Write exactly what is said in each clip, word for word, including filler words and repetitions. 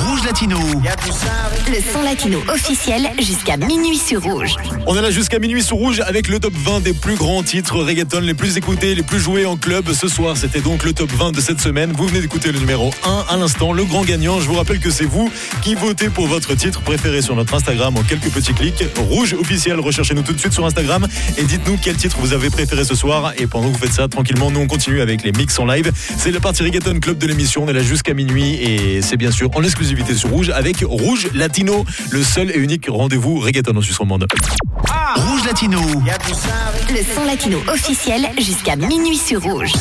Rouge Latino. Le son latino officiel jusqu'à minuit sur Rouge. On est là jusqu'à minuit sur Rouge avec le top vingt des plus grands titres reggaeton les plus écoutés, les plus joués en club. Ce soir, c'était donc le top vingt de cette semaine. Vous venez d'écouter le numéro un à l'instant, le grand gagnant. Je vous rappelle que c'est vous qui votez pour votre titre préféré sur notre Instagram en quelques petits clics. Rouge officiel, recherchez-nous tout de suite sur Instagram et dites-nous quel titre vous avez préféré ce soir. Et pendant que vous faites ça, tranquillement, nous on continue avec les mix en live. C'est le parti reggaeton club de l'émission. On est là jusqu'à minuit et c'est bien sûr en exclusivité sur Rouge avec Rouge Latino, le seul et unique rendez-vous reggaeton en Suisse romande. Ah, Rouge Latino. Le son latino officiel jusqu'à minuit sur Rouge.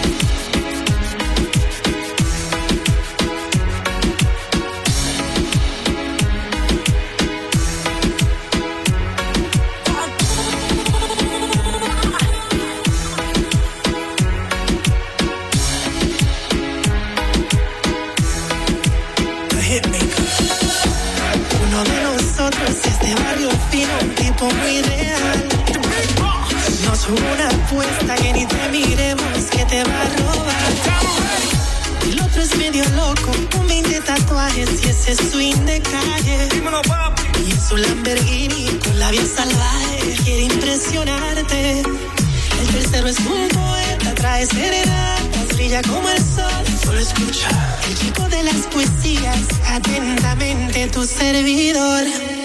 Muy real. No es una apuesta que ni te miremos que te va a robar. El otro es medio loco, con veinte tatuajes y ese swing de calle. Y en su Lamborghini con la vida salvaje quiere impresionarte. El tercero es un poeta, trae serenatas, brilla como el sol. Solo escucha el chico de las poesías, atentamente tu servidor.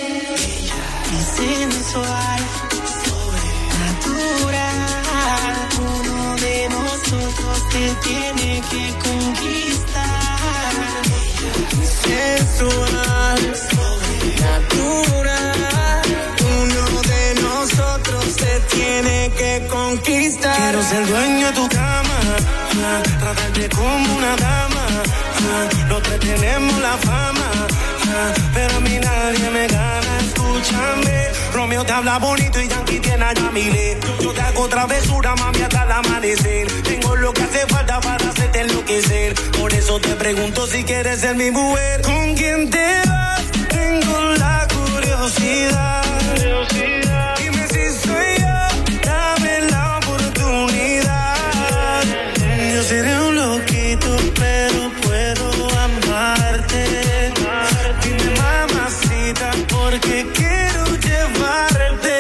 Sensual, sobrenatural, uno de nosotros te tiene que conquistar. Sensual, sobrenatural, uno de nosotros te tiene que conquistar. Quiero ser dueño de tu cama, tratarte como una dama. Los tres tenemos la fama, pero a mí nadie me gana. Escúchame, Romeo te habla bonito y Yankee tiene a Yamile. Yo te hago travesura, mami, hasta el amanecer. Tengo lo que hace falta para hacerte enloquecer. Por eso te pregunto si quieres ser mi mujer. ¿Con quién te vas? Tengo la curiosidad. curiosidad. Dime si soy yo, dame la oportunidad. Yo seré un loquito, pero puedo amarte. Dime, mamacita, porque quiero llevarte.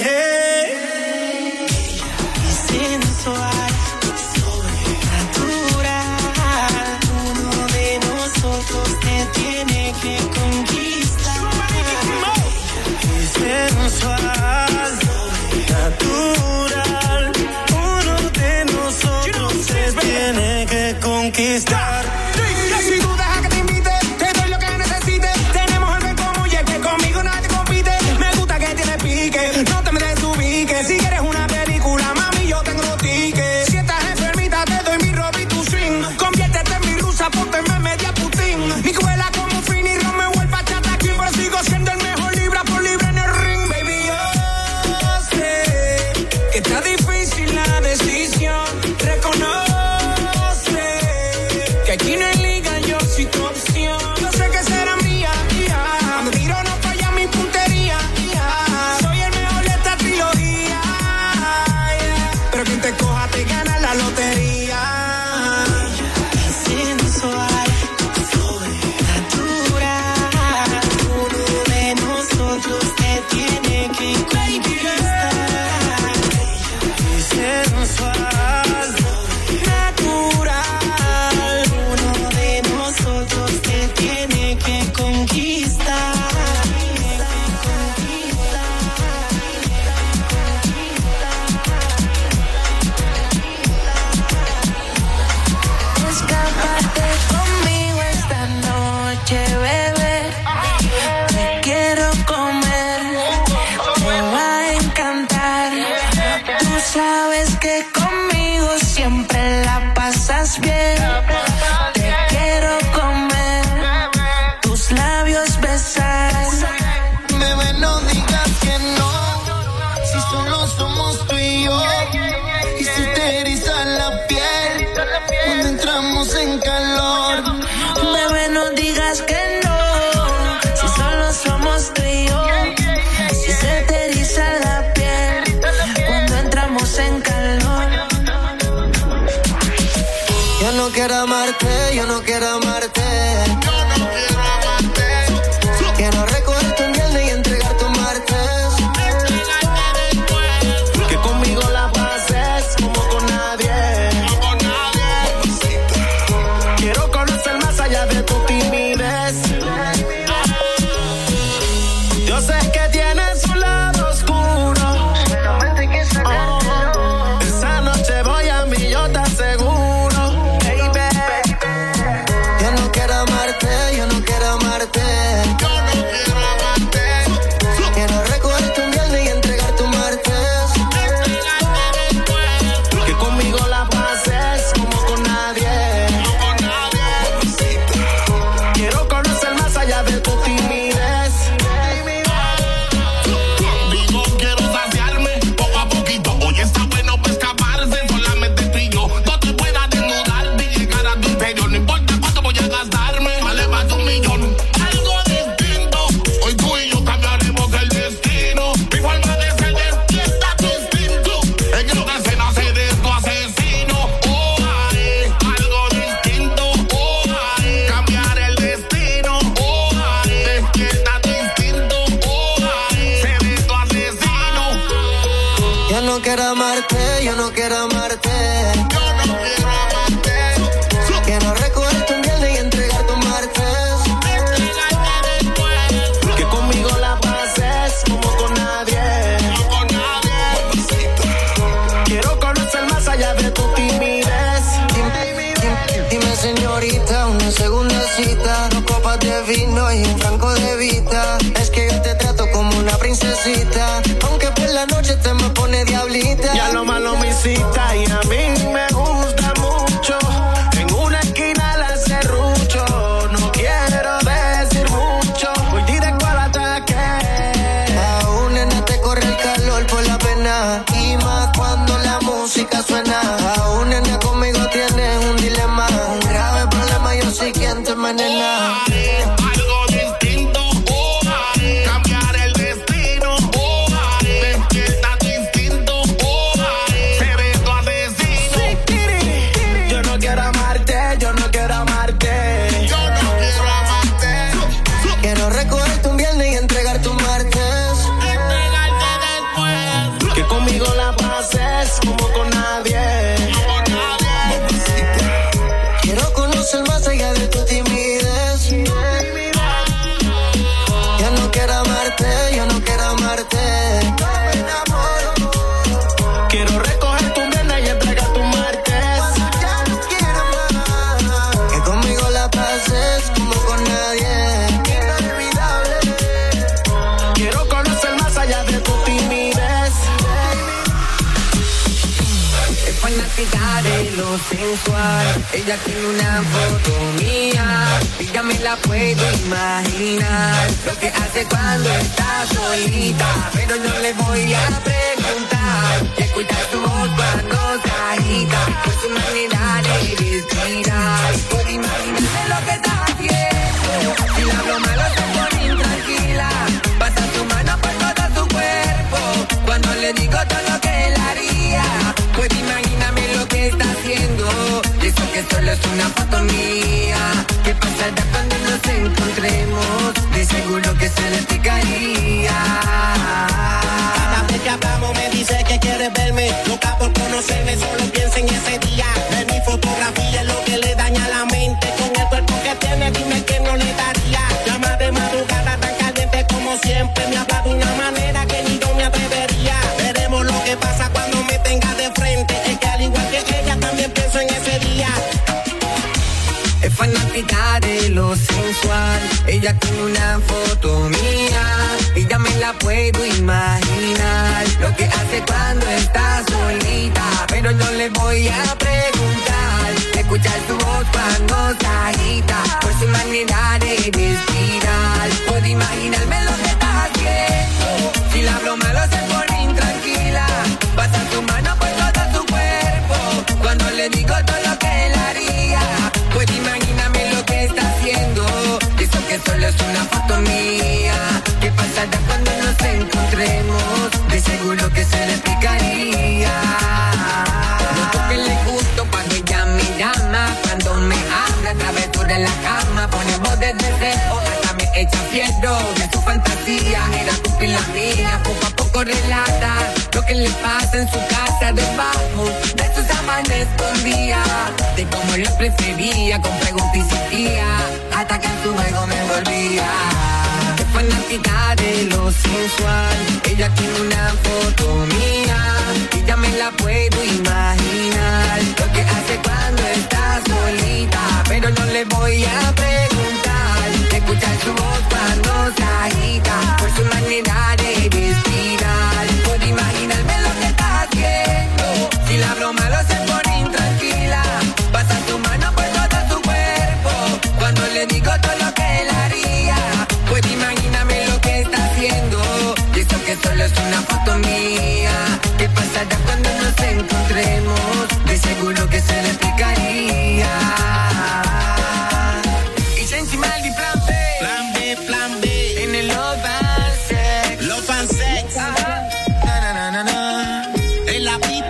Sensual, sobrenatural, uno de nosotros te tiene que conquistar. Sensual, sobrenatural, uno de nosotros te tiene que conquistar. Si tú dejas que te invite, te doy lo que necesites. Tenemos algo en común y es que conmigo nadie compite. Me gusta que tienes pique, no te me desubiques. Si quieres una película, mami, yo tengo los tickets. Si estás enfermita, te doy mi robe y tu swing. Conviértete en mi rusa, ponte en media Putin. Mi cuela como Fini, Romeo, el bachata aquí, pero sigo siendo el mejor libra por libra en el ring. Baby, yo sé que está difícil la decisión. Reconoce que aquí no hay liga, yo soy tu opción. Yo sé que será mía, yeah. Cuando tiro no falla mi puntería, yeah. Soy el mejor de esta trilogía, yeah. Pero quien te coja te gana la lotería. Sensual, sobrenatural, uno de nosotros te tiene que conquistar. Sensual, natural, uno de nosotros te tiene que conquistar. Escápate conmigo esta noche, bebé. Te quiero comer, te va a encantar. Tú sabes que conmigo siempre la pasas bien. Te quiero comer, tus labios besar. Bebé, no digas que no, si solo somos tú y yo. Y si te eriza la piel cuando entramos en calor. Bebé, no digas que no, si solo somos tú y yo. Si se te eriza la piel cuando entramos en calor. Yo no quiero amarte, yo no quiero amarte. Yo no quiero amarte. Quiero recogerte un viernes y entregarte un martes. Que conmigo la pases como con nadie. Quiero conocer más allá de tu timidez. Yo sé que tienes un lado oscuro. Oh, esa noche voy a mí, yo te aseguro, baby. Yo no quiero amarte, yo no quiero amarte. Yo no quiero amarte. Quiero recogerte un viernes y entregarte un martes. Que conmigo la pases como con nadie. Quiero conocer más allá de tu timidez. Digo, quiero saciarme poco a poquito. Hoy está bueno para escaparse, solamente tú y yo. No te puedas desnudar ni llegar a tu interior. No importa cuánto voy a gastarme, vale más de un millón. Algo distinto, hoy tú y yo cambiaremos el destino. Mi forma de ser despierta tu instinto. En esta escena seré tu asesino. Oh, ay, algo distinto. Oh, ay, cambiar el destino. Oh, ay, despierta tu instinto. Oh, ay, seré tu asesino. Yo no quiero amarte, yo no quiero amarte. Yo no quiero amarte. Quiero recogerte un viernes y entregarte un martes. Que conmigo la pases como con nadie. No con nadie. Quiero conocer más allá de tu timidez. Dime, dime, dime, señorita, una segunda cita. Dos copas de vino y un franco de vista. Es que yo te trato como una princesita, aunque por la noche te me pone diablita. Ya lo malo me cita y a mí me gusta mucho. En una esquina la serrucho. No quiero decir mucho, voy directo al ataque. Aún nena te corre el calor por la pena, y más cuando la música suena. Aún nena conmigo tienes un dilema, un grave problema, yo soy quien te envenena. Algo distinto, oh, ay, cambiar el destino, oh, ay, despierta tu instinto, oh, ay, seré tu asesino. Yo no quiero amarte, yo no quiero amarte. Yo no quiero amarte. Quiero recogerte un viernes y entregarte un martes. Entregarte después. Que conmigo la pases como con nadie. No con nadie. Quiero conocer más allá de tu timidez. Yo no quiero amarte, yo no quiero amarte. Quiero recogerte un viernes y entregarte un martes. Que conmigo la pases como con nadie. Inolvidable. Quiero conocer más allá de tu timidez. Es fanática de lo sensual. Ella tiene una foto mía y ya me la puedo imaginar. Lo que hace cuando está solita, pero no le voy a preguntar. Y escuchar su voz cuando se agita, por su manera de respirar. Por imaginarse lo que está haciendo. Si la hablo malo se pone intranquila, pasa su mano por todo su cuerpo. Cuando le digo todo lo que él haría, pues imagíname lo que está haciendo. Y eso que solo es una foto mía. ¿Qué pasará cuando nos encontremos? De seguro que se le picaría. Cada vez que hablamos me dice que quiere verme, loca por conocerme, solo piensa en ese día. Ver mi fotografía es lo que le daña la mente. Con el cuerpo que tiene, dime que no le daría. Llama de madrugada tan caliente como siempre. Me habla de una manera que ni yo me atrevería. Veremos lo que pasa cuando me tenga de frente. Es que al igual que ella también pienso en ese día. Es fanática de lo sensual. Ella tiene una foto mía y ya me la puedo imaginar. Lo que hace cuando está solita, pero no le voy a preguntar. Escuchar su voz cuando se agita, por su manera de respirar. Puedo imaginarme lo que está haciendo. Si la hablo malo se pone intranquila, pasa su mano por todo su cuerpo. Cuando le digo todo lo que él haría, pues imagíname lo que está haciendo. Eso que solo es una foto mía. ¿Qué pasará cuando nos encontremos? De seguro que se le picaría. Noto que le gusto cuando ella me llama, cuando me habla, travesura en la cama, pone voz de deseo, hasta me hecha fierro de su fantasía, era cumplir la mía, poco a poco relata lo que le pasa en su casa debajo de sus sábanas escondía, de cómo lo prefería, con preguntas y insistía, hasta que en su juego me envolvía. Qué fanática de lo sensual, ella tiene una foto mía, y ya me la puedo imaginar, lo que hace cuando está solita, pero no le voy a preguntar, escuchar su voz cuando se agita, por su manera de respirar, puedo imaginarme lo que está haciendo, si la broma lo hace por intranquila, pasa tu mano por todo su cuerpo, cuando le digo todo lo que él haría, puedo imaginarme lo que está haciendo, y eso que solo es una foto mía, ¿qué pasará cuando nos encontremos? De seguro que se le explicaría. Y Sensi Maldi, plan B. Plan B, plan B. En el Love and Sex. Love and Sex. Ah. Na, na, na, na, na. En la pista.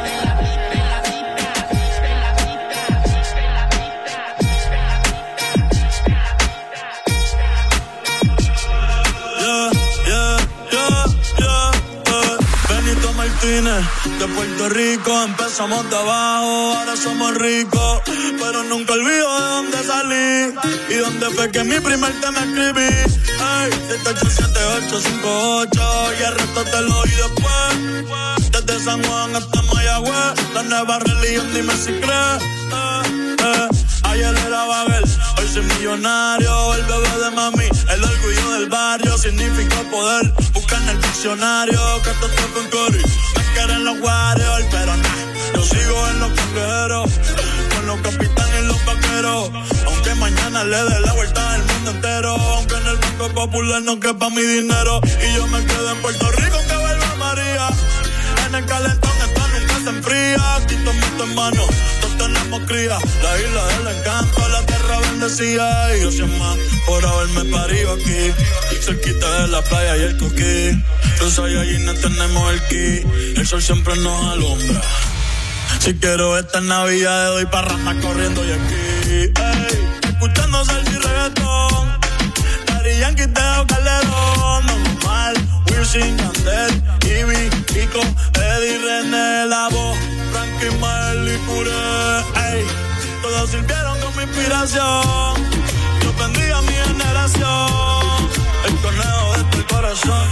De Puerto Rico empezamos de abajo, ahora somos ricos, pero nunca olvido de dónde salí y dónde fue que mi primer tema escribí. Ay, siete ocho siete ocho cinco ocho y el resto te lo oí después. Desde San Juan hasta Mayagüez, la nueva religión, dime si crees. Eh, eh. Ayer era Babel, hoy soy millonario, el bebé de mami, el orgullo del barrio, significa poder, busca en el diccionario, catástrofe en Cori, me quieren los Warriors, pero nah, yo sigo en los cangrejeros, con los capitanes y los vaqueros, aunque mañana le dé la vuelta al mundo entero, aunque en el Banco Popular no quepa mi dinero, y yo me quedo en Puerto Rico que vuelva María, en el calentón esto nunca se enfría, aquí tomito en mano, tenemos cría, la isla del encanto, la tierra bendecida. Y yo soy más por haberme parido aquí, cerquita de la playa y el coquí. Los Saiyajines tenemos el ki, el sol siempre nos alumbra. Si quiero esta Navidad, doy parranda corriendo y aquí. Ey, escuchando salsa y reggaetón, Daddy Yankee, Teo Calderón, normal, Wisin, Yandel, Ivy, Kiko, Eddie, René, La Voz, Frankie, Mael y Puré, ey, todos sirvieron como inspiración, yo bendiga a mi generación, el conejo de tu corazón.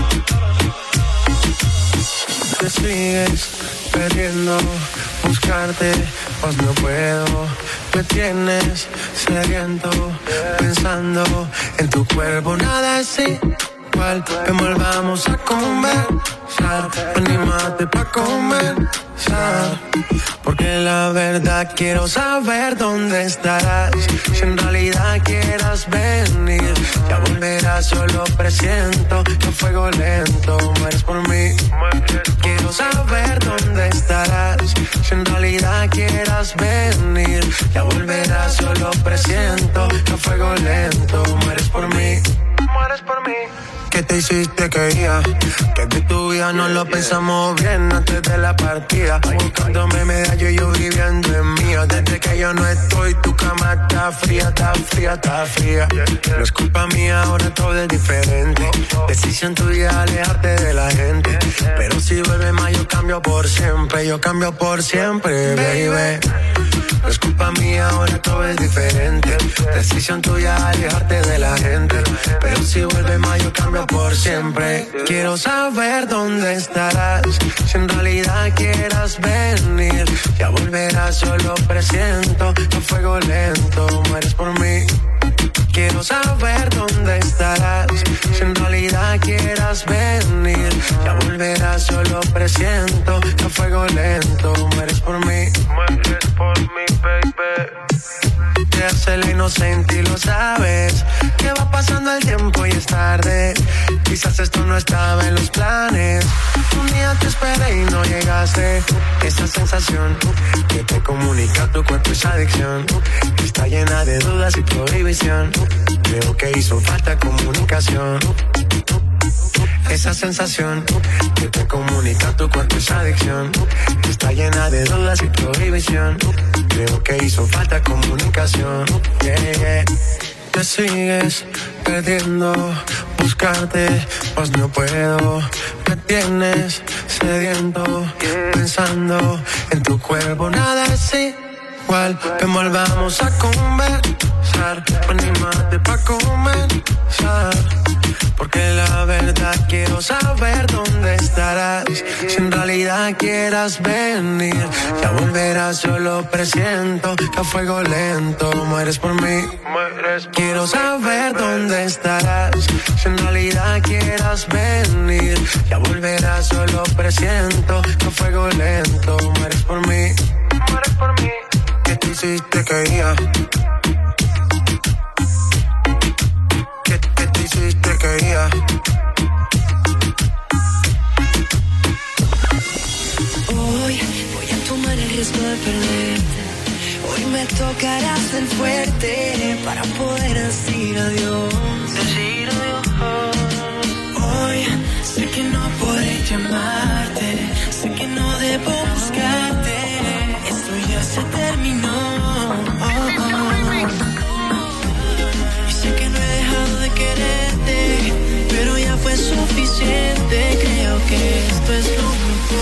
Te sigues perdiendo, buscarte, pues no puedo, me tienes sediento, pensando en tu cuerpo, nada es igual, ven volvamos a conversar, anímate pa' comenzar, porque la verdad quiero saber dónde estarás, si en realidad quieras venir, ya volverás, solo presiento, que fuego lento, mueres por mí, quiero saber dónde estarás, si en realidad quieras venir, ya volverás, solo presiento, que fuego lento, mueres por mí, mueres por mí. ¿Qué te hiciste que iba? Que de tu vida no lo pensamos bien antes de la partida. Buscándome medallo y yo viviendo en mía. Desde que yo no estoy, tu cama está fría, está fría, está fría. No es culpa mía, ahora todo es diferente. Decisión tuya alejarte de la gente. Pero si vuelve más, yo cambio por siempre. Yo cambio por siempre, baby. No es culpa mía, ahora todo es diferente. Decisión tuya alejarte de la gente. Pero si vuelve más, yo cambio por siempre. Quiero saber dónde estarás, si en realidad quieras venir, ya volverás, solo presiento, a fuego lento, mueres por mí. Quiero saber dónde estarás, si en realidad quieras venir, ya volverás, solo presiento, a fuego lento, mueres por mí. Mueres por mí, baby. Te hace la inocente y lo sabes, que va pasando el tiempo y es tarde. Quizás esto no estaba en los planes. Un día te esperé y no llegaste. Esa sensación que te comunica tu cuerpo, esa adicción está llena de dudas y prohibición. Creo que hizo falta comunicación. Esa sensación que te comunica tu cuerpo, esa adicción está llena de dudas y prohibición. Creo que hizo falta comunicación. Yeah, yeah. Te me sigues perdiendo, buscarte, pues no puedo. Me tienes sediento, pensando en tu cuerpo. Nada es igual, ven volvamos a conversar, anímate pa' comenzar. Porque la verdad quiero saber dónde estarás. Si en realidad quieras venir, ya volverás, yo lo presiento. Que a fuego lento mueres por mí. Quiero saber dónde estarás. Si en realidad quieras venir, ya volverás, yo lo presiento. Que a fuego lento mueres por mí. Mueres por mí. ¿Qué te hiciste que iba? ¿Qué, qué te hiciste que iba? Hoy voy a tomar el riesgo de perderte. Hoy me tocará ser fuerte para poder decir adiós. Decir adiós. Hoy sé que no podré llamarte, sé que no debo buscarte. Esto ya se terminó. Oh, oh. Y sé que no he dejado de quererte, pero ya fue suficiente. Creo que esto es lo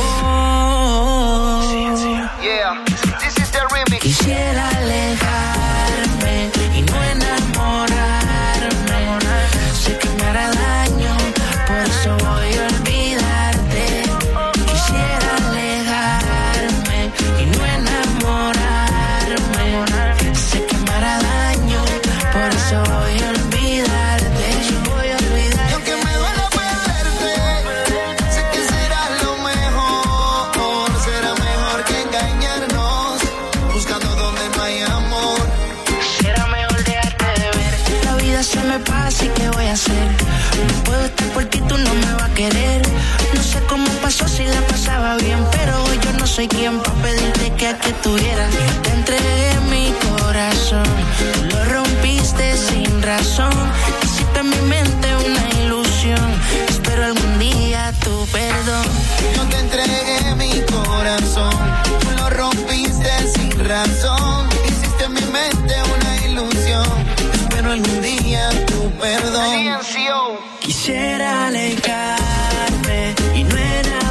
mejor. Yeah, this is the remix. Quisiera alejarme y no enamorarme. Sé que me hará daño, por eso voy a olvidarte. Quisiera alejarme y no enamorarme. Sé que me hará daño, por eso voy a olvidarte. Voy a olvidarte. Y aunque me duela perderte, sé que será lo mejor. Será mejor que engañarnos, buscando donde no hay amor. Será mejor dejarte de ver. La vida se me pasa y ¿qué voy a hacer? No puedo estar por ti, tú no me vas a querer. No sé cómo pasó si la pasaba bien, pero hoy yo no soy quien para pedirte que aquí estuviera. Yo te entregué mi corazón, tú lo rompiste sin razón. Hiciste en mi mente una ilusión, espero algún día tu perdón. Yo te entregué mi corazón, tú lo rompiste sin razón. Hiciste en mi mente una ilusión, espero algún día tu perdón. Quisiera alejarme y no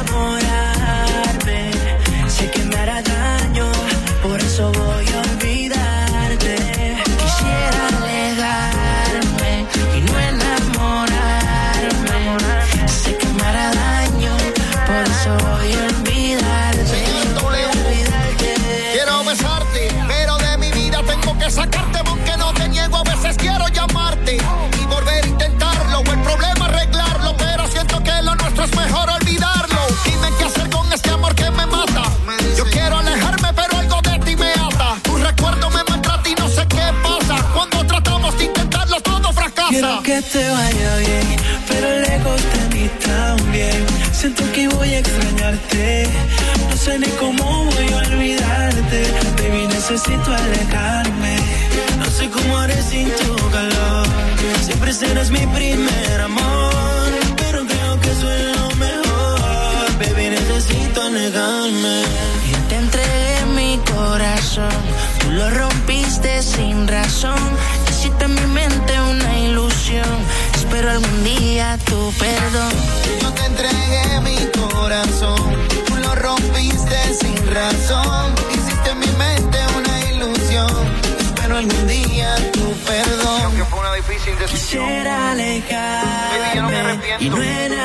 enamorarme. Sé que me hará daño, por eso voy a olvidarte. Quisiera alejarme y no enamorarme. Sé que me hará daño, por eso voy a olvidarte. Señor W, quiero besarte, pero de mi vida tengo que sacarte, aunque no te niego, a veces quiero llamarte y volver a intentarlo, o el problema arreglarlo, pero siento que lo nuestro es mejor olvidarlo. Dime qué hacer con este amor que me mata. Yo quiero alejarme, pero algo de ti me ata. Tu recuerdo me maltrata y no sé qué pasa. Cuando tratamos de intentarlo, todo fracasa. Quiero que te vaya bien, pero lejos de mí también. Siento que voy a extrañarte, no sé ni cómo voy a olvidarte. Baby, necesito alejarme, no sé cómo haré sin tu calor. Siempre serás mi primer amor, pero creo que eso es lo mejor. Baby, necesito alejarme. Yo te entregué mi corazón, tú lo rompiste sin razón. Hiciste en mi mente una ilusión, espero algún día tu perdón. Yo te entregué mi corazón, tú lo rompiste sin razón. Hiciste en mi mente una ilusión, espero algún día tu perdón. Aunque fue una difícil decisión, quisiera alejarme y no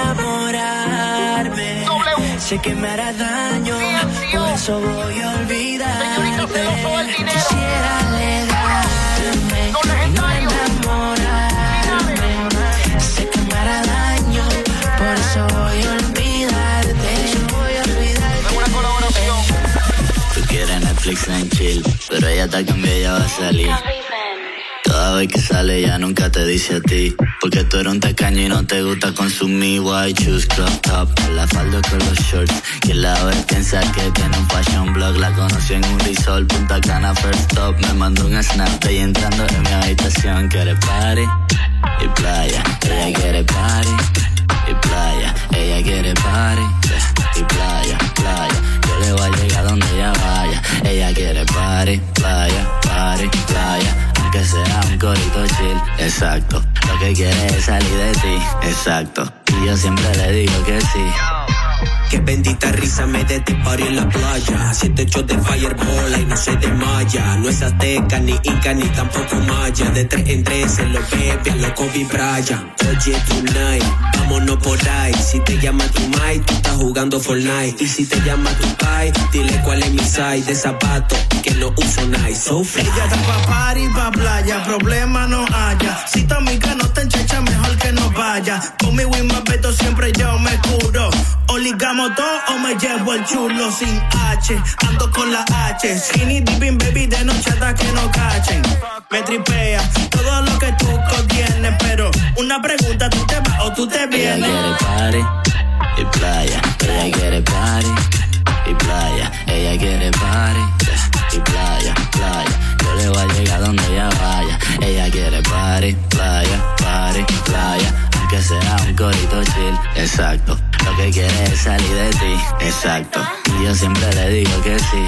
enamorarme. Sé que me hará daño, por eso voy a olvidarte. Quisiera alejarme y no enamorarme. Sé que me hará daño, por eso voy a olvidarte. Voy a olvidarte. Una colaboración. Tú quieres Netflix en chill, pero ella te cambia y ya va a salir. Cada vez que sale ya nunca te dice a ti, porque tú eres un tacaño y no te gusta consumir. White shoes, crop top, la falda con los shorts. Quien la ve piensa que tiene un fashion blog. La conocí en un resort, Punta Cana, first stop. Me mandó un snap de ella entrando en mi habitación. Quiere party y playa, ella quiere party y playa. Ella quiere party y playa, playa. Yo le voy a llegar donde ella vaya. Ella quiere party, playa, party, playa. Aunque sea un corito chill, exacto. Lo que quiere es salir de ti, exacto. Y yo siempre le digo que sí. Que bendita risa me dé este party en la playa. Siete hechos de fireball y no se desmaya. No es azteca, ni inca, ni tampoco maya. De tres en tres se lo bebe a lo Kobe Bryant. Oye, tonight, vámonos por ahí. Si te llama tu mai, tú estás jugando Fortnite. Y si te llama tu pai, dile cuál es mi size de zapato que no uso Nike. So fly. Ella está pa' party, pa' playa, problema no haya. Si tu amiga no te enchecha, mejor que no vaya. Conmigo y más beto siempre yo me curo. O ligamos todo o me llevo el chulo sin H. Ando con la H. Skinny dipping baby de noche hasta que no cachen. Me tripea todo lo que tú contienes, pero una pregunta, ¿tú te vas o tú te vienes? Ella quiere party y playa. Ella quiere party y playa. Ella quiere party y playa, playa. Yo le voy a llegar donde ella vaya. Ella quiere party, playa, party, playa. Aunque sea un corito chill, exacto. Lo que quiere es salir de ti, exacto. Y yo siempre le digo que sí.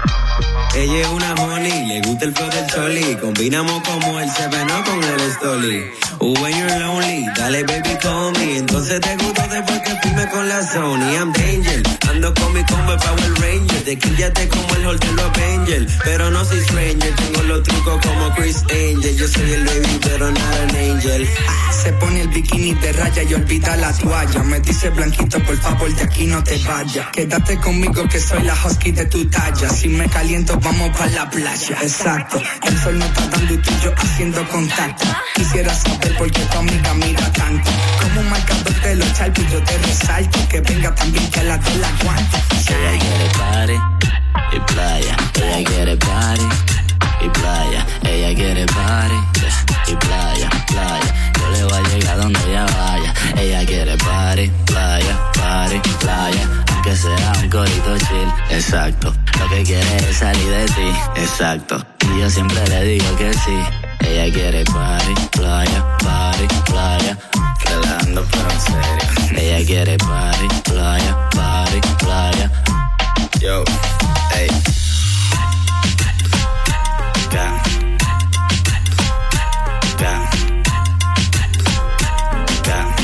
Ella es una honey, le gusta el flow del choli. Combinamos como el seveno con el stoli. When you're lonely, dale baby call me. Entonces te gusto después que firme con la Sony. I'm danger, ando con mi combo Power Ranger. De quíllate como el Hulk de los Avengers. Pero no soy stranger, tengo los trucos como Chris Angel. Yo soy el baby pero no an angel. Ah, se pone el bikini de raya y olvida la toalla. Me dice blanquito, por favor de aquí no te vayas. Quédate conmigo que soy la husky de tu talla. Si me caliento vamos pa' la playa. Exacto, el sol no está dando y tú y yo haciendo contacto. Quisiera saber por qué tu amiga mira tanto. Como un marcador de los charpis yo te resalto. Que venga también que la de la aguanto. Ella quiere party y playa. Ella quiere party y playa. Ella quiere party y playa, playa. Yo le voy a llegar donde ella vaya. Ella quiere party, playa, party, playa. Aunque sea un corito chill, exacto. Lo que quiere es salir de ti, exacto. Y yo siempre le digo que sí. Ella quiere party, playa, party, playa. Relajando pero en serio. Ella quiere party, playa, party, playa. Yo, hey. Ga. Ga. Ga.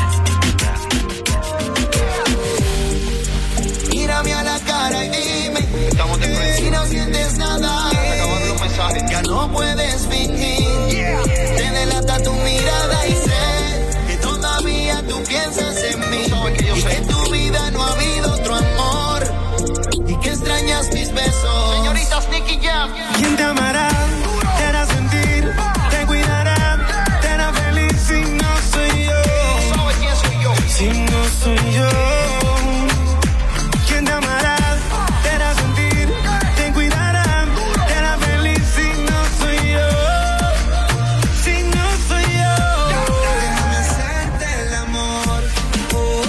Mírame a la cara y dime si no sientes nada. Ya no puedes fingir. Te delata tu mirada y sé que todavía tú piensas en mí. Y que en tu vida no ha habido otro amor. Y que extrañas mis besos. Señoritas Nicky Jam. ¿Quién te amará? Te hará sentir. Te cuidará. Te hará feliz si no soy yo. ¿Sabes quién soy yo? Si no soy yo. ¿Quién te amará? Te hará sentir. Te cuidará. Te hará feliz si no soy yo. Si no soy yo. Déjame hacerte el amor. Oh, oh,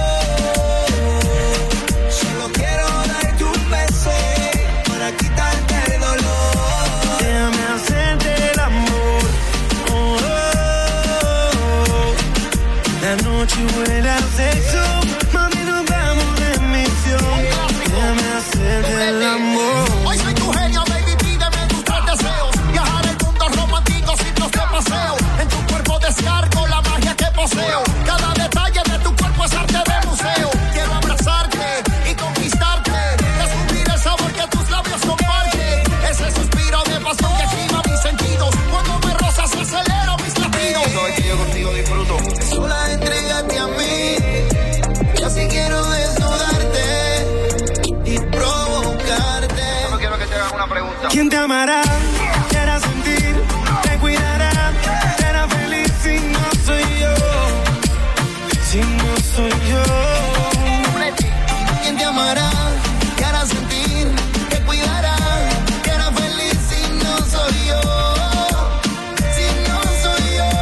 oh. Solo quiero darte un beso para quitarte el dolor. Déjame hacerte el amor. Oh, oh, oh. La noche huele a sexo. Mami, nos vamos de misión. Déjame hacerte el amor. Hoy soy tu genio, baby, pídeme tus tres deseos. Viajar el mundo romántico, sitios de paseo. En tu cuerpo descargo la magia que poseo. Cada detalle de tu cuerpo es arte de museo. Quiero abrazarte y conquistarte. Descubrir el sabor que tus labios comparten. Ese suspiro de pasión que activa mis sentidos. Cuando me rozas acelero mis latidos. Sabes que yo contigo disfruto. Sola entrégate a mí. Yo sí quiero desnudarte y provocarte. Solo quiero que te hagas una pregunta. ¿Quién te amará? Te hará sentir. Te cuidará. Te hará feliz si no soy yo. Si no soy yo. ¿Quién te amará? Te hará sentir. Te cuidará. Te hará feliz si no soy yo. Si no soy yo.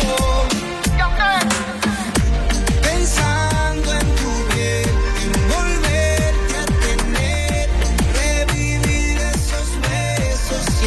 Pensando en tu piel, en volverte a tener, revivir esos besos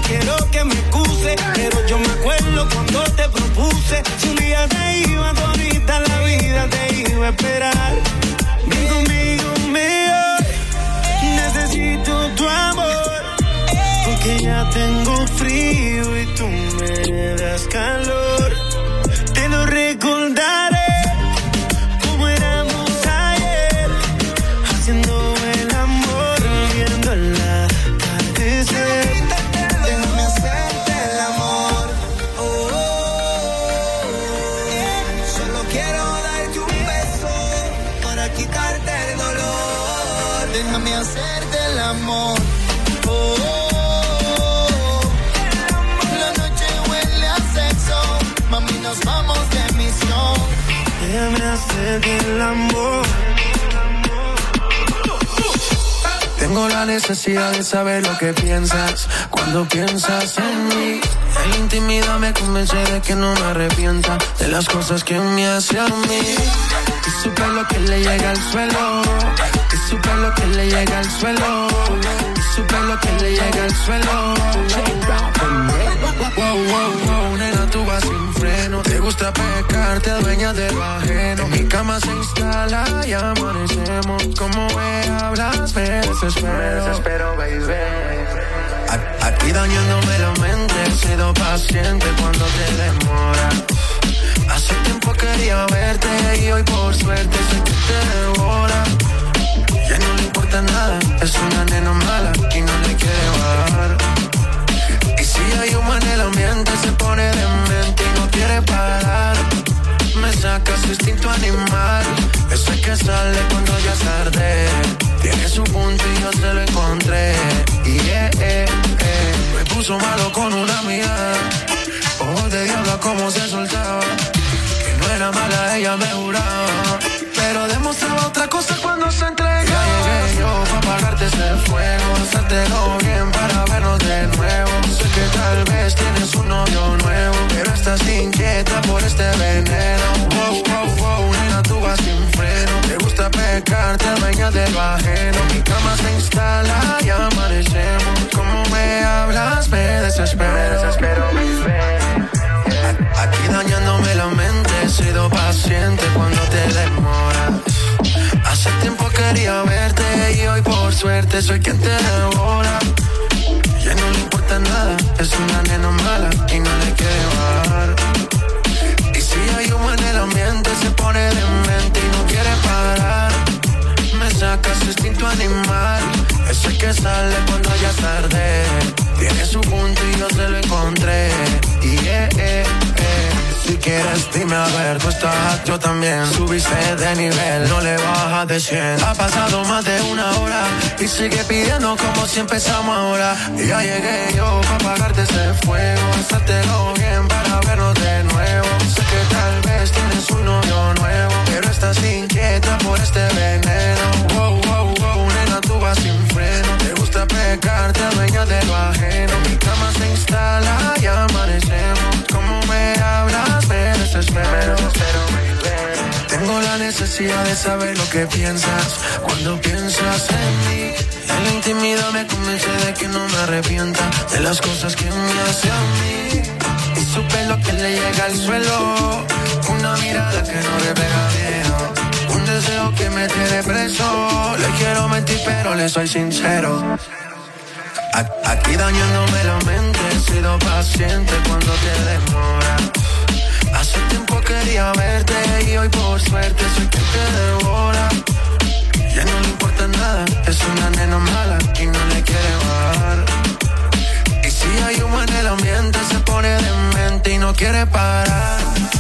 quiero que me excuse, pero yo me acuerdo cuando te propuse. Si un día te iba, todita la vida te iba a esperar. Ven conmigo, mío, necesito tu amor, porque ya tengo frío y tú me das calor. Te lo recordaré como éramos ayer, haciendo el amor, viendo el atardecer. Déjame hacerte el amor. Oh, oh, oh. Solo quiero darte un beso para quitarte el dolor. Déjame hacerte el amor. Oh, oh, oh. La noche huele a sexo, mami, nos vamos de misión. Déjame hacerte el amor. Tengo la necesidad de saber lo que piensas cuando piensas en mí. En la intimidad me convence de que no me arrepienta de las cosas que me hace a mí. Y su pelo que le llega al suelo, y su pelo que le llega al suelo, y su pelo que le llega al suelo. Wow, wow, wow, nena, tú vas sin freno. Te gusta pecar, te adueñas de lo ajeno. Mi cama se instala y amanecemos. Como me hablas, me desespero. Me desespero, baby. Aquí dañándome la mente, he sido paciente cuando te demora. Hace tiempo quería verte y hoy por suerte sé que te devora. Ya no le importa nada, es una nena mala y no le quiere bajar. Y si hay humo en el ambiente se pone demente y no quiere parar. Me saca su instinto animal, ese que sale cuando ya es tarde. Tiene su punto y yo se lo encontré. Y yeah, yeah, yeah. Me puso malo con una amiga, ojos de diablo como se soltaba. Que no era mala, ella me juraba, pero demostraba otra cosa cuando se entregaba. Ya llegué yo pa' apagarte ese fuego, hacértelo bien para vernos de nuevo. Sé que tal vez tienes un novio nuevo, pero estás inquieta por este veneno. Wow, wow, wow, nena, tú vas sin freno. Te gusta pecar, te adueñas de lo ajeno. Mi cama se instala y amanecemos. Como me hablas, me desespero. Me desespero, aquí dañándome la mente, he sido paciente cuando te demoras. Hace tiempo quería verte y hoy por suerte soy quien te devora. Ya no le importa nada, es una nena mala y no le quiere bajar. Y si hay humo en el ambiente se pone demente y no quiere parar. Me saca su instinto animal, ese que sale cuando ya es tarde. Tiene su punto y yo se lo encontré. Y yeah, yeah, yeah. Si quieres dime a ver, tú estás, yo también. Subiste de nivel, no le bajas de cien. Ha pasado más de una hora y sigue pidiendo como si empezamos ahora. Y ya llegué yo pa' apagarte ese fuego, hacértelo bien para vernos de nuevo. Sé que tal vez tienes un novio nuevo, pero estás inquieta por este veneno. Wow, wow, wow, nena, tú vas sin freno. Te gusta pecar, te adueñas de lo ajeno. Mi cama se instala y amanecemos. Como me hablas, me desespero. Tengo la necesidad de saber lo que piensas cuando piensas en mí. En la intimidad me convence de que no me arrepienta de las cosas que me hace a mí. Y su pelo que le llega al suelo, una mirada que no refleja miedo, un deseo que me tiene preso. Le quiero mentir pero le soy sincero. Aquí dañándome la mente, he sido paciente cuando te demora. Hace tiempo quería verte y hoy por suerte soy quien te devora. Ya no le importa nada, es una nena mala y no le quiere bajar. Y si hay humo en el ambiente se pone demente y no quiere parar.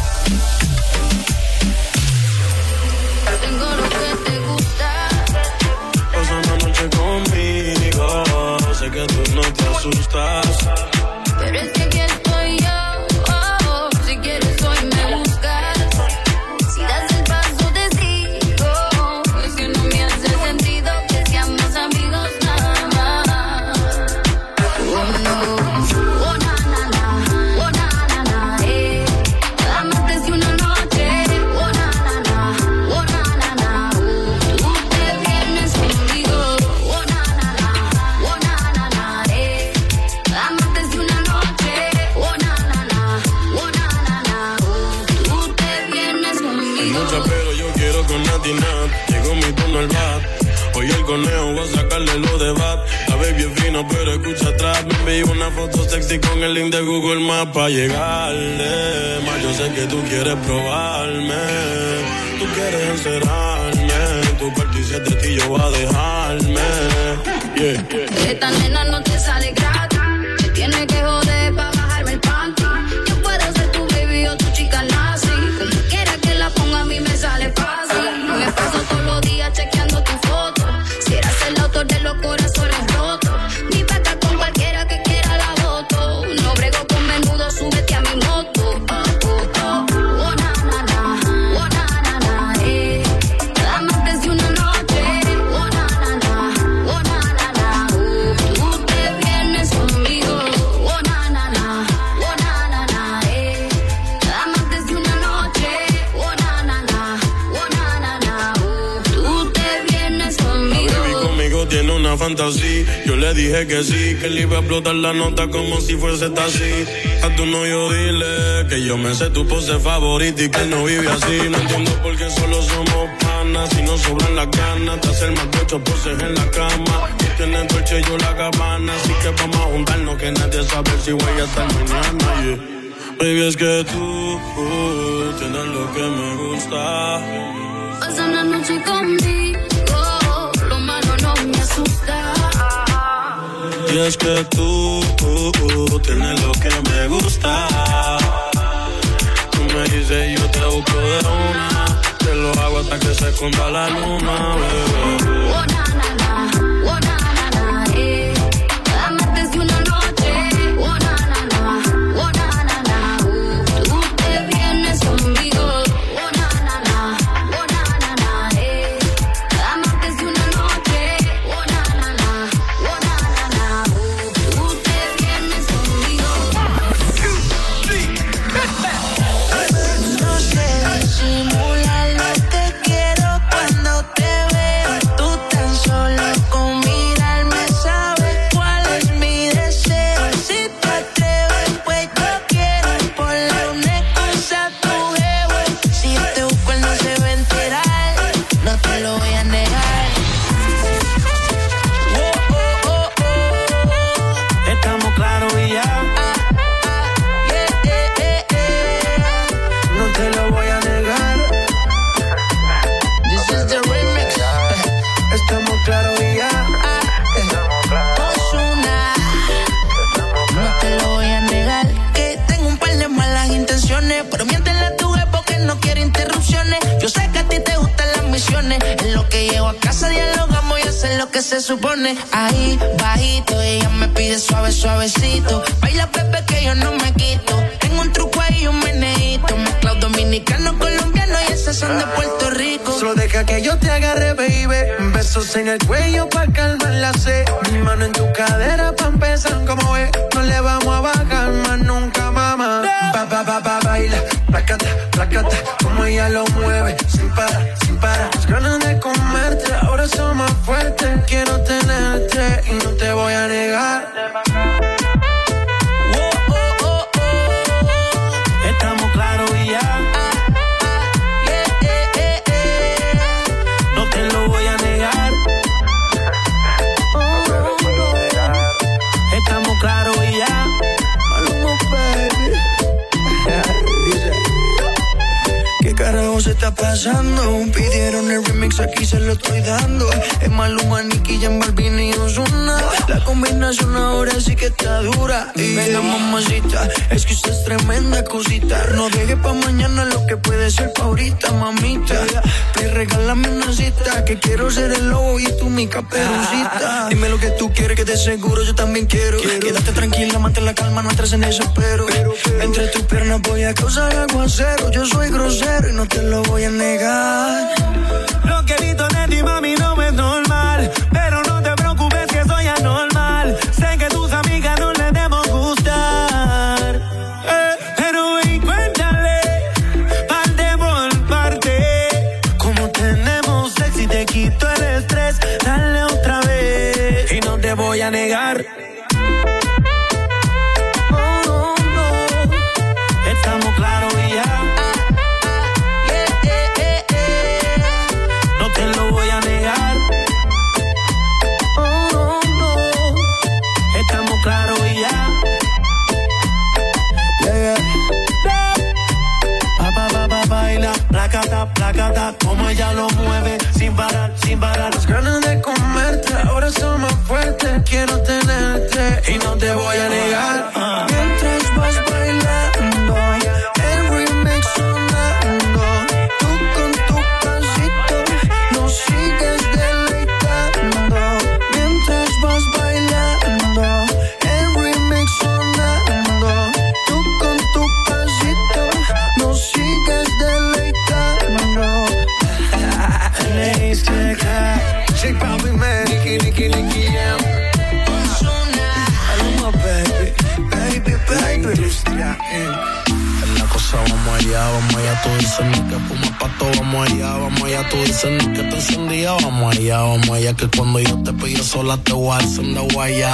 Tengo lo que te gusta. Pasa una noche conmigo, sé que tú no te asustas. Pero es que aquí estoy yo, oh, oh. Si quieres hoy me buscas. Si das el paso te sigo. Es que no me hace sentido que seamos amigos nada más. Oh no, oh na na na, oh na na na, eh. Amantes de una noche, oh na na na, oh na na na. Tú te vienes conmigo, oh na na na, oh na na na, eh. Amantes de conejo, voy a sacarle lo de bat. La baby es fina, pero escucha atrás. Me envió una foto sexy con el link de Google Maps pa' llegarle. Más yo sé que tú quieres probarme. Tú quieres encerrarme. Tu parte y siete ti yo voy a dejarme. Yeah, yeah. Esta nena no te sale gratis. Te tiene que joder pa' bajarme el panty. Yo puedo ser tu baby o tu chica nazi. Como quiera que la ponga a mí me sale fácil. Me paso todos los días chequeando tu foto. Si eras el autor de los corazones rotos. Mi pata con cualquiera que quiera la foto. No brego con menudo, súbete a mi moto. Oh, oh, oh. Oh, na, na, na. Oh, na, na, na. Eh. Amantes de una noche. Oh, na, na, na. Oh, na, na, na. Uh, tú te vienes conmigo. Oh, na, na, na. Oh, na, na, na. Eh. Amantes de una noche. Oh, na, na, na. Oh, na, na, na. Uh, tú te vienes conmigo. La baby conmigo tiene una fantasía. Yo le dije que sí, que le iba a explotar la nota como si fuese taxi. A tu novio dile que yo me sé tu pose favorita y que él no vive así. No entiendo por qué solo somos panas. Si no sobran las ganas de hacer más de ocho poses en la cama. Tú tienes Dolce y yo la Gabbana. Así que vamos a juntarnos que nadie sabe si voy a estar mañana. Yeah. Baby, es que tú uh, tienes lo que me gusta. Pasa una noche conmigo, lo malo no me asusta. Y es que tú uh, uh, tienes lo que me gusta. Tú me dices yo te busco de una. Te lo hago hasta que se esconda la luna, bebé. Oh, na, na, na. Oh, na, na, na. Eh. Amantes de una noche. Oh, na, na, na. Oh, na, na, na. Uh, tú te vienes conmigo. Oh, na, na, na. Oh, na, na, na. Eh. Amantes de una noche. Oh, na, na, na. Oh, na, na, na. Uh, tú te vienes conmigo. No sé disimular lo que quiero cuando te veo. Tú tan solo con mirarme sabes cuál es mi deseo. Si te atreves, pues yo quiero ponle una excusa a tu jevo. Si yo te busco, él no se va a enterar. No te lo voy a negar. Oh, oh, oh, oh. Estamos claros y ya. Yeah, yeah, yeah, yeah. No te lo voy a negar. This is the remix. Estamos claros y ya. Ozuna. No te lo voy a negar. Que tengo un par de malas intenciones, pero miéntele a tu jefe porque no quiere interrupciones. Yo sé que a ti te gustan las misiones. En lo que llego a casa dialogamos y hacer lo que se supone. Ahí, bajito, ella me pide suave, suavecito. Baila, bebé, que yo no me quito. Tengo un truco ahí, un meneíto. Mezclado dominicano, colombiano y esas son de Puerto Rico. Solo deja que yo te agarre, baby. Besos en el cuello pa' calmar la sed. Mi mano en tu cadera pa' empezar como es. No le vamos a bajar más nunca, mamá. Pa, pa, pa, pa, baila. Placata, placata. Como ella lo mueve. Sin parar, sin parar. Las ganas de comerte. Ahora son más fuertes. Quiero tenerte y no te voy a negar. Oh, oh, oh, oh. Estamos claros y ya. Yeah, yeah, yeah, yeah. No te lo voy a negar. Estamos claros y ya. Maluma, baby. Dice, ¿qué carajo se está pasando? Pidieron el remix, aquí se lo estoy dando. Es Maluma, Nicky, Jan Balvin y Ozuna. La combinación ahora sí que está dura. Y venga, mamacita, es que usted es tremenda cosita. No deje pa' mañana lo que puede ser pa' ahorita, mamita. Te regálame una cita, que quiero ser el lobo y tú mi caperucita. Dime lo que tú quieres, que de seguro yo también quiero. Quédate tranquila, mantén la calma, no entres en desespero. Entre tus piernas voy a causar aguacero. Yo soy grosero y no te lo voy a negar. Lo que he visto de ti, mami, no es normal. Pero no te preocupes que soy anormal. Sé que tus amigas no les debo gustar. Eh, pero ven, cuéntale, parte por parte. Como tenemos sexy, te quito el estrés. Dale otra vez y no te voy a negar. Oh, no, no. Estamos claros y ya. Yeah, yeah, yeah, yeah. No te lo voy a negar. encanta como ella lo mueve, sin parar, sin parar. Las ganas de comerte ahora son más fuertes. Quiero tenerte y no te voy a negar. Uh. Mientras vas bailando, el remix sonando, tú con tu pasito nos sigues deleitando. Mientras vas bailando, el remix sonando, tú con tu pasito nos sigues deleitando. Lace checker, Shake Bobby man, Nicky, Nicky, Nicky, yeah. Hello, my baby, baby, baby. En la cosa vamos allá, vamos allá, tú dices ni que fumas pato, vamos allá, vamos allá, tú dices ni que te encendía, vamos allá, vamos allá, que cuando yo te pillo sola te voy a encender guayá.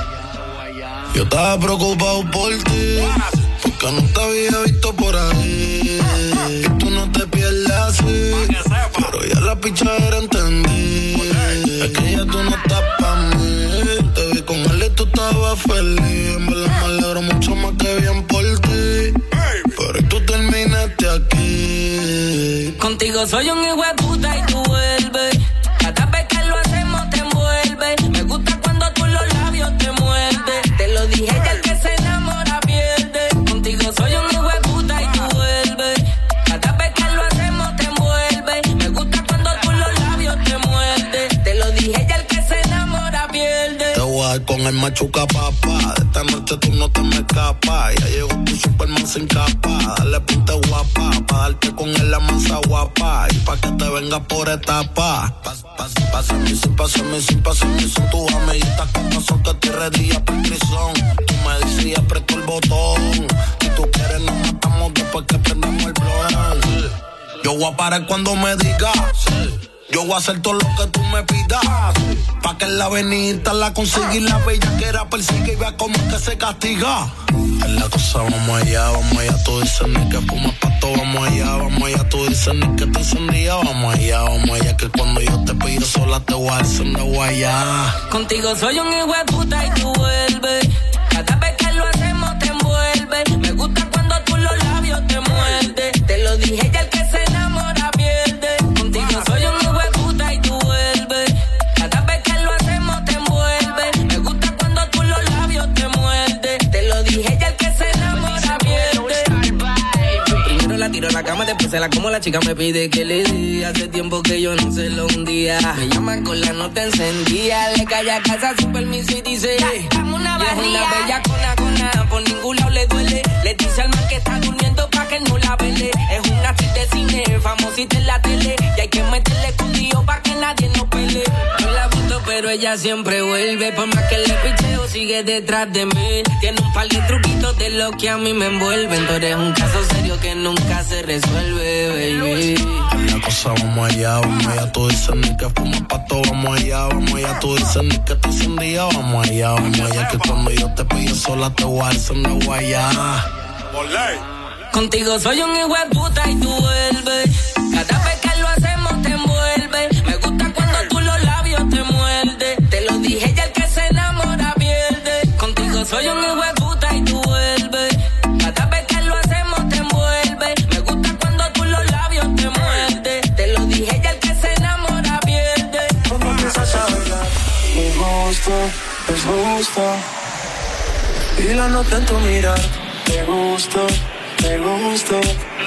Yo estaba preocupado por ti, porque no te había visto por ahí, y tú no te pierdes así, pero ya la pichadera entendí, es que ya tú no estás pa' mí, te vi con él y tú estabas feliz, en verdad me alegro mucho más que bien por ti, pero tú terminaste aquí. Contigo soy un hijo de puta y tú vuelves, cada vez que lo hacemos te envuelve, me gusta cuando tú los labios te muerdes, te lo dije ya el que se enamora pierde, contigo soy un hijo de puta y tú vuelves, cada vez que lo hacemos te envuelve, me gusta cuando tú los labios te muerdes, te lo dije ya el que se enamora pierde. Te voy a dar con el machuca papá, de esta noche tú no te me escapas, ya llegó tu Superman sin capa, dale ponte guapa, pa' darte con él la masa guapa, y pa' que te venga por etapa. Pas, pas, pásame sin, pásame sin, pásame sin, tu amiguita con razón que te redilla por prisión, tú me dices y aprieto el botón, si tú quieres nos matamos después que prendamos el blog. Yo voy a parar cuando me digas, yo voy a hacer todo lo que tú me pidas, pa' que en la avenida la consiga y la bellaquera persigue y vea cómo es que se castiga. En la cosa vamos allá, vamos allá, tú dices ni que fumas pato, vamos allá, vamos allá, tú dices ni que te encendía, vamos allá, vamos allá, que cuando yo te pillo sola te voy a encender guayá. Contigo soy un hijo de puta y tú vuelves, cada vez que lo hacemos te envuelve, me gusta cuando tú los labios te muerdes, te lo dije ya el que se enamora pierde, contigo soy un hijo de puta y tú vuelves, cada vez que lo hacemos te envuelve, me gusta cuando tú los labios te muerdes, te lo dije ya el que se enamora pierde. Primero la tiro a la cama, después se la como, la chica me pide que le dé, hace tiempo que yo no se lo hundía, me llama con la nota encendida, le cae a casa sin permiso y dice, dame una barriga, es una bella cona, cona, por ningún lado le duele, le dice al man que está durmiendo pa' que no la vele, es una actriz de cine, famosita en la tele, y hay que meterle escondido pa' que nadie nos pele, yo la busco pero ella siempre vuelve, por más que le picheo sigue detrás de mí, tiene un par de truquitos de lo que a mí me envuelven, tú eres un caso serio que nunca se resuelve, baby. En la cosa vamos allá, vamos allá, tú dices ni que fumas pato, vamos allá, vamos allá, tú dices ni que te encendía, vamos allá, vamos allá, que cuando yo te pillo sola te voy a encender guayá. Contigo soy un hijo de puta y tú vuelves, cada vez que lo hacemos te envuelve, me gusta cuando tú los labios te muerdes, te lo dije ya el que se enamora pierde, contigo soy un hijo de puta y tú vuelves, cada vez que lo hacemos te envuelve, me gusta cuando tú los labios te muerdes, te lo dije ya el que se enamora pierde. Cuando empiezas a bailar, me gusta, es justo, y la nota en tu mirar, te gusto, te gusto.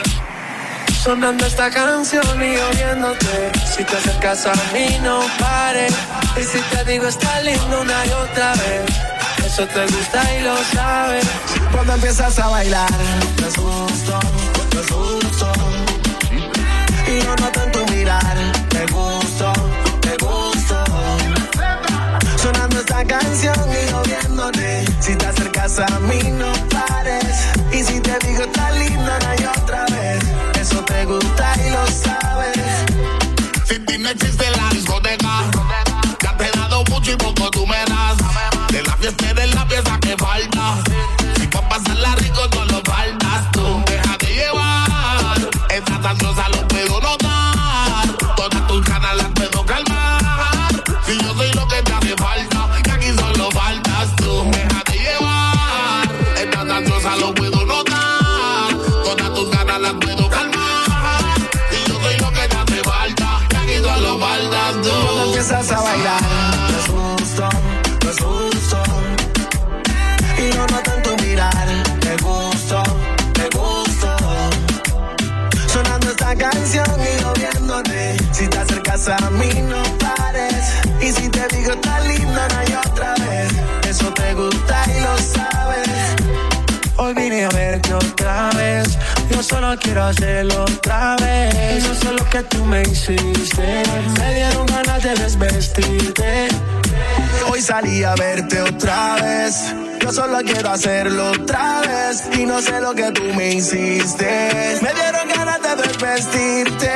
Sonando esta canción y oyéndote, si te acercas a mí no pares, y si te digo está lindo una y otra vez, eso te gusta y lo sabes. Cuando empiezas a bailar, te gusto, te gusto, y lo noto en tu mirar, te gusto, te gusto. Sonando esta canción y oyéndote, si te acercas a mí no pares, y si te digo está lindo una y otra vez, eso te gusta y lo sabes. Sin ti no existe la discoteca, ya te he dado mucho y poco tú me das, de la fiesta de la pieza que falta, si pa' pasarla rico no lo faltas tú, déjate llevar, esta ansiosa lo puedo notar, todas tus ganas las puedo calmar, si yo soy lo que te hace falta, que aquí solo faltas tú, déjate llevar, esta ansiosa lo puedo notar, todas tus ganas las puedo calmar, si yo soy lo que te canción y yo viéndote. Si te acercas a mí no pares. Y si te digo está lindo no hay otra vez. Eso te gusta y lo sabes. Hoy vine a verte otra vez. Yo solo quiero hacerlo otra vez. Yo sé lo que tú me hiciste. Me dieron ganas de desvestirte. Hoy salí a verte otra vez. Yo solo quiero hacerlo otra vez. Y no sé lo que tú me hiciste. Me dieron ganas de desvestirte.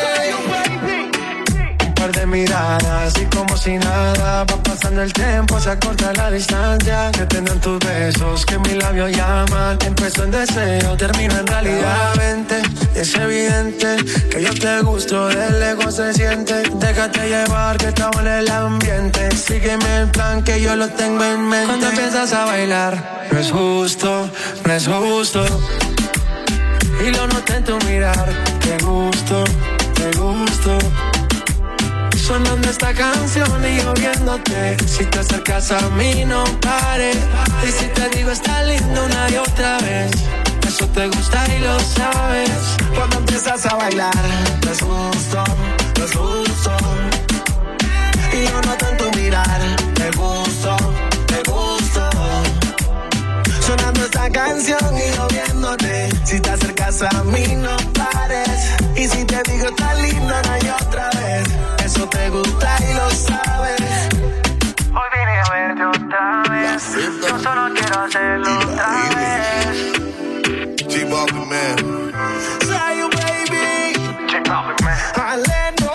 De miradas y como si nada va pasando el tiempo, se acorta la distancia. Que tengan tus besos, que mis labios llaman. Empezó en deseo, termina en realidad. Vente, es evidente que yo te gusto, de lejos se siente. Déjate llevar que estamos en el ambiente. Sígueme el plan que yo lo tengo en mente. Cuando empiezas a bailar, no es justo, no es justo. Y lo noté en tu mirar, te gusto, te gusto. Sonando esta canción y yo viéndote. Si te acercas a mí no pares. Y si te digo está lindo una y otra vez. Eso te gusta y lo sabes. Cuando empiezas a bailar, no es justo, no es justo. Y yo noto en tu mirar, te gusto, te gusto. Sonando esta canción y yo viéndote. Si te acercas a mí no pares. Y si te digo está lindo no hay otra vez. Eso te gusta y lo sabes. Hoy vine a verte otra vez. Yo solo quiero hacerlo otra vez. G-Bobby, man. Say you, baby. G-Bobby, man. Alendo,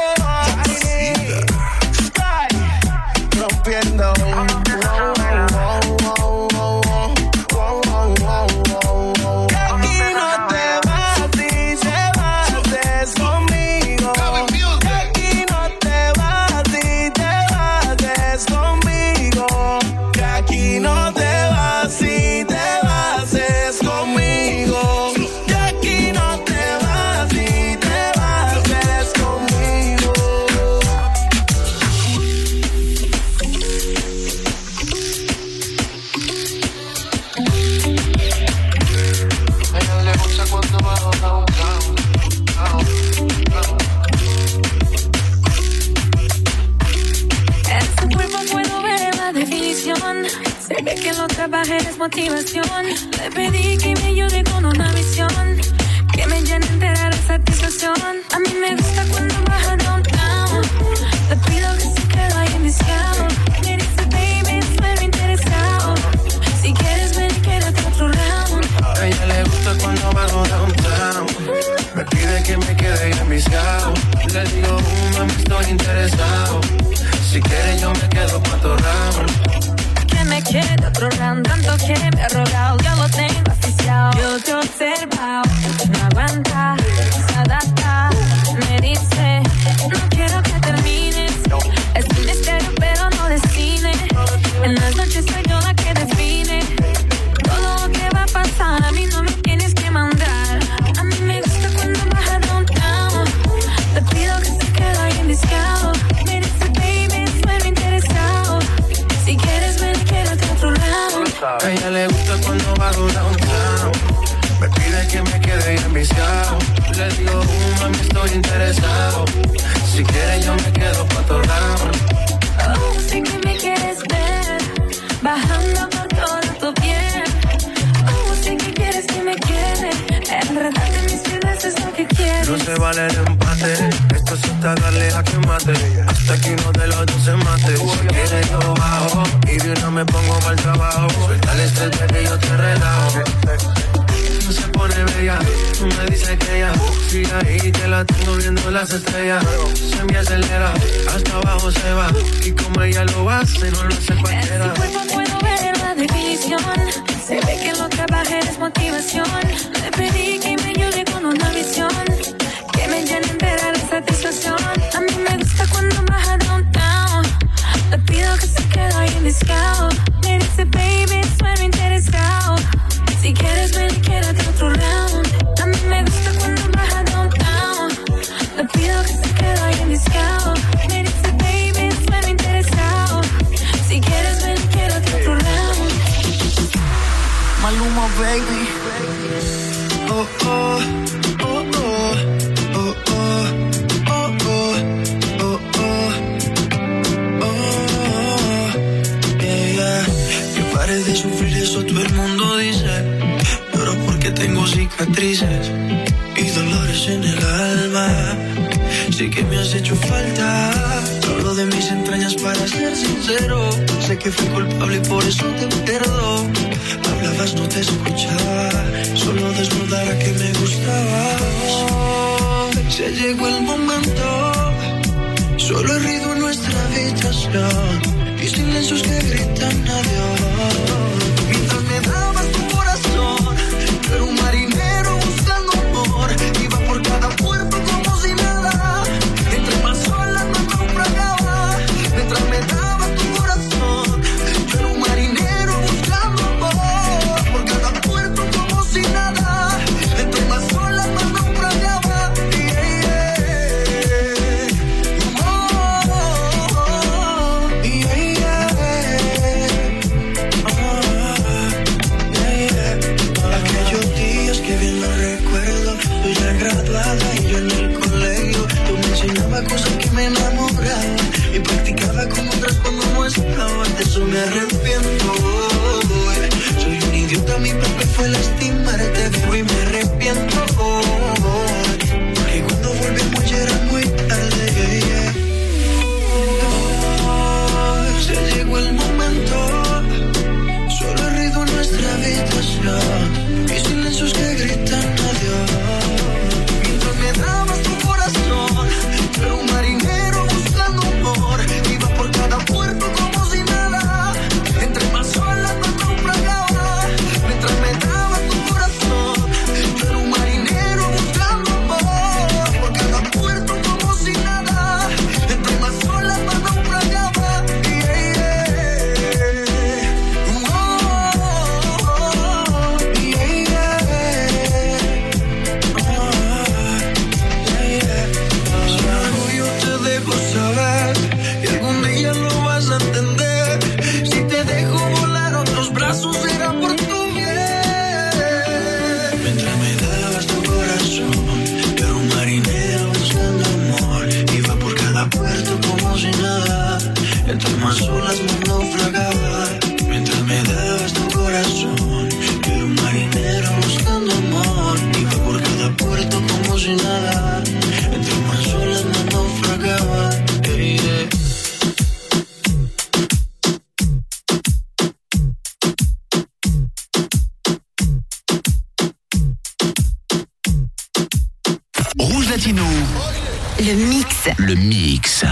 Sky, rompiendo. Motivación, le pedí que me ayude con una visión que me llene entera de satisfacción. A mí me gusta cuando baja downtown. Le pido que se quede ahí en mi escala. Me dice baby, estoy interesado. Si quieres ven y quédate otro round. A ella le gusta cuando bajo downtown. Me pide que me quede ahí en mi escala. Le digo, uh, mami, estoy interesado. Si quieres yo me quedo pa' otro round. Me queda otro round, tanto que me ha rogado, yo lo tengo oficial. Yo te he observado, no aguanta, se adapta. Me dice, no quiero que termines. Es un misterio pero no de cine. En las noches soy yo la que define todo lo que va a pasar, a mí no me tienes que mandar. A mí me gusta cuando baja downtown. Te pido que se quede ahí en discado. Me dice baby, estoy interesado. Si quieres ven, quédate otro round. A ella le gusta cuando bajo downtown. Me pide que me quede enviciado. Le digo, uh, mami, estoy interesado. Si quieres yo me quedo pa' otro round. Oh, sé que me quieres ver bajando por todo tu piel. Oh, sé que quieres que me quede enredarte mis piernas, es lo que quieres. No se vale el empate. Esto es hasta darle a que mate. Hasta que uno de los dos se mate. Si quieres yo bajo y de una me pongo para el trabajo. Suelta el estrés que yo te relajo. No se pone bella, tú me dices que ya sigue ahí, que la tengo viendo las estrellas. Se me acelera, hasta abajo se va. Y como ella lo hace, no lo hace cualquiera. En tu cuerpo puedo ver la definición. Se ve que lo trabaje es motivación. Le pedí que me ayude con una visión que me llene entera de satisfacción. A mí me gusta cuando baja downtown. Le pido que se quede ahí en discado. Me dice baby, sueno interesado. Si quieres ven y quédate otro round. A mí me gusta cuando baja downtown. Le pido que se quede ahí en discado. Me dice baby, sueno interesado. Si quieres ven y quédate otro round. Maluma baby. Oh oh. de sufrir, eso todo el mundo dice. Pero porque tengo cicatrices y dolores en el alma. Sé que me has hecho falta. Hablo de mis entrañas para ser sincero. Sé que fui culpable y por eso te pierdo. Hablabas, no te escuchaba. Solo desnudara que me gustabas. Se llegó el momento. Solo he ruido en nuestra habitación y silencios que gritan adiós. Mientras me dabas tu corazón, yo era un marinero buscando amor. Iba por cada puerto como si nada. Entre más olas me naufragaba. Mientras me dabas tu corazón, yo era un marinero buscando amor. Por cada puerto como si nada. Entre más olas me naufragaba. Yeah, yeah. Oh, yeah, yeah. Oh, yeah, yeah. Aquellos días que bien lo recuerdo. Tú ya graduada y yo en el colegio. Tú me enseñabas cosas que me enamoraban y practicaba con otras cuando no estabas. De eso me arrepiento. Soy un idiota, mi papel fue lastimarte. Fui y me arrepiento. Porque cuando volvimos ya era muy tarde. Oh, se llegó el momento. Solo he ruido en nuestra habitación y silencios que gritan adiós. Mientras me dabas tu corazón, yo era un marinero buscando amor. Iba por cada puerto como si nada. Entre más olas me naufragaba. Mientras me dabas tu corazón, yo era un marinero buscando amor. Por cada puerto como si nada. Entre más olas me naufragaba. Yeah, yeah. Oh, yeah, yeah. Sin orgullo te dejo saber y algún día lo vas a entender. Si te dejo volar otros brazos será por tu bien. Mientras me dabas tu corazón, yo era un marinero buscando amor. Iba por cada puerto como si nada. Entre más olas me naufragaba. Mientras me dabas tu corazón, yo era un marinero buscando amor. Iba por cada puerto como si nada. Entre más olas me naufragaba. Yeah, yeah. Rouge Latino. Le mix. Le mix.